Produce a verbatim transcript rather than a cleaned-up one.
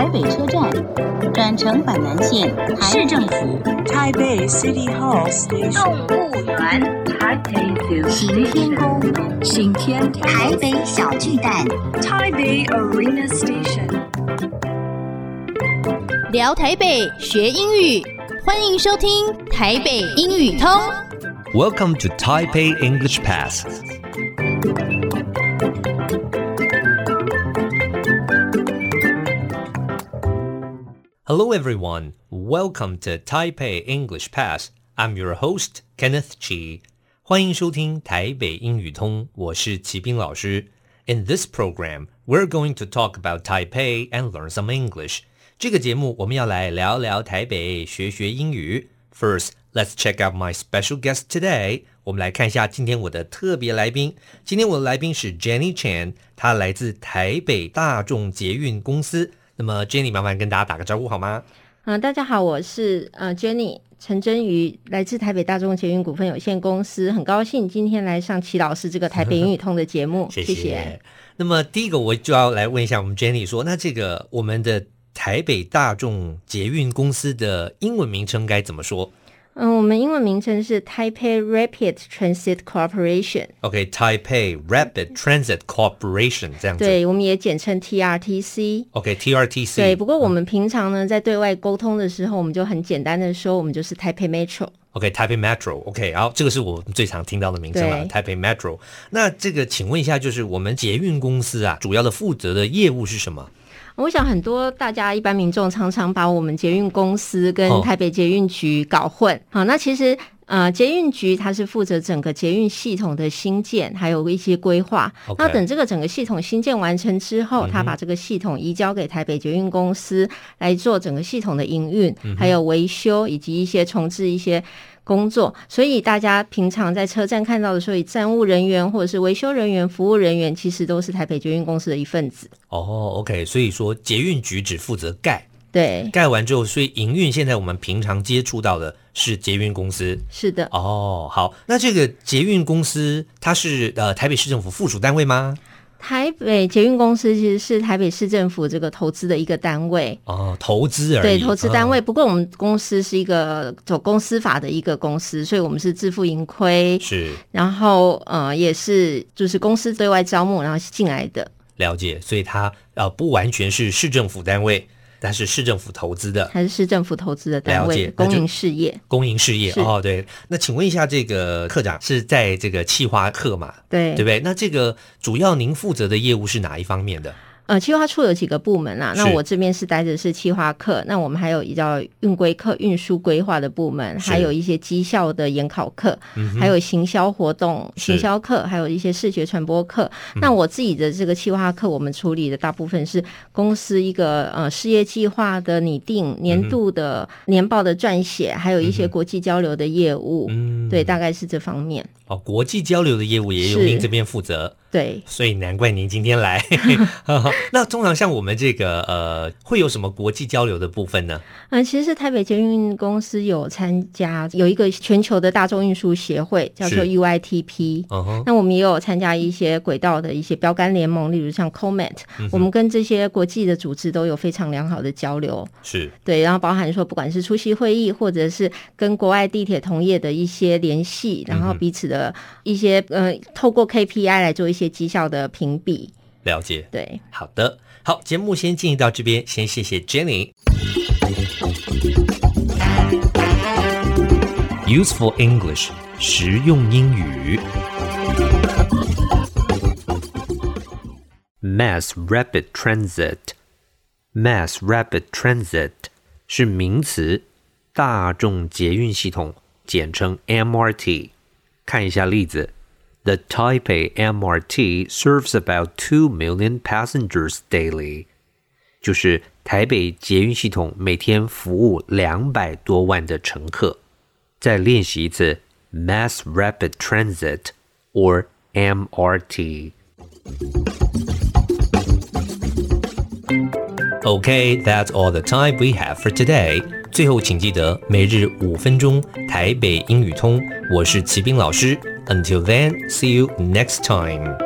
台北車站，轉乘板南線，市政府， 台北 City Hall Station， 動物園，行天宮，行天台北小巨蛋， 台北 Arena Station。 聊台北學英語，歡迎收聽台北英語通。 Welcome to Taipei English Pass. Hello everyone, welcome to Taipei English Pass. I'm your host, Kenneth Chi. 歡迎收聽台北英語通，我是齊斌老師。In this program, we're going to talk about Taipei and learn some English. 這個節目我們要來聊聊台北，學學英語。First, let's check out my special guest today. 我們來看一下今天我的特別來賓。今天我的來賓是 Jenny Chan， 她來自台北大眾捷運公司。那麼 Jenny 麻煩跟大家打個招呼好嗎？ 嗯、呃，大家好，我是呃 Jenny 陳真瑜，來自台北大眾捷運股份有限公司，很高興今天來上齊老師這個台北英語通的節目，謝謝。謝謝。 那麼第一個我就要來問一下我們 Jenny 說，那這個我們的台北大眾捷運公司的英文名稱該怎麼說？ 嗯，我們英文名稱是 Taipei Rapid Transit Corporation。OK，Taipei Rapid Transit Corporation 這樣子。 對，我們也簡稱 T R T C。OK，T R T C。對，不過我們平常呢，在對外溝通的時候，我們就很簡單的說，我們就是 Taipei Metro。OK，Taipei Metro。OK， 然後這個是我最常聽到的名稱了 ，Taipei Metro。那這個，請問一下，就是我們捷運公司啊，主要的負責的業務是什麼？我想很多大家一般民眾常常把我們捷運公司跟台北捷運局搞混。好、哦，那其實呃捷運局它是負責整個捷運系統的興建，還有一些規劃。Okay. 那等這個整個系統興建完成之後，他把這個系統移交給台北捷運公司來做整個系統的營運，嗯、還有維修以及一些重置一些工作。所以大家平常在車站看到的時候，以站務人員或者是維修人員、服務人員，其實都是台北捷運公司的一份子。 哦、oh, OK， 所以說捷運局只負責蓋， 對， 蓋完之後，所以營運現在我們平常接觸到的是捷運公司。 是的。 哦，好，那這個捷運公司它是呃台北市政府附屬單位嗎？ 台北捷運公司其實是台北市政府這個投資的一個單位。 哦，投資而已。 對，投資單位。哦、不過我們公司是一個走公司法的一個公司，所以我們是自負盈虧。 是。然後呃，也是就是公司對外招募然後進來的。 了解，所以它呃不完全是市政府單位，但是市政府投資的， 還是市政府投資的單位，公營事業， 公營事業哦，對。那請問一下，這個課長是在這個企劃課嘛？對，對不對？那這個主要您負責的業務是哪一方面的？ 呃，企劃處有幾個部門啦，那我這邊是待的是企劃課，那我們還有一叫運規課、運輸規劃的部門，還有一些績效的研考課、嗯，還有行銷活動、行銷課，還有一些視覺傳播課。那我自己的這個企劃課，我們處理的大部分是公司一個呃事業計劃的擬定、年度的年報的撰寫，還有一些國際交流的業務。嗯，對，大概是這方面。 哦，國際交流的業務也由您這邊負責。 對， 所以難怪您今天來。那通常像我們這個呃，會有什麼國際交流的部分呢？ 嗯、呃，其實台北捷運公司有參加有一個全球的大眾運輸協會，叫做 U I T P。Uh-huh. 那我們也有參加一些軌道的一些標杆聯盟，例如像 COMET、嗯。我們跟這些國際的組織都有非常良好的交流。是，對，然後包含說不管是出席會議，或者是跟國外地鐵同業的一些聯繫，然後彼此的一些呃，透過 K P I 來做一些績效的評比。 了解， 對， 好的，好，節目先進行到這邊，先謝謝 Jenny。 Useful English， 實用英語。 Mass Rapid Transit， Mass Rapid Transit 是名詞，大眾捷運系統，簡稱 M R T。 看一下例子。The Taipei M R T serves about two million passengers daily. 就是台北捷運系統每天服務兩百多萬的乘客。再練習一次 Mass Rapid Transit or M R T. Okay, that's all the time we have for today. 最後請記得每日五分鐘台北英語通，我是齊斌老師。Until then, see you next time.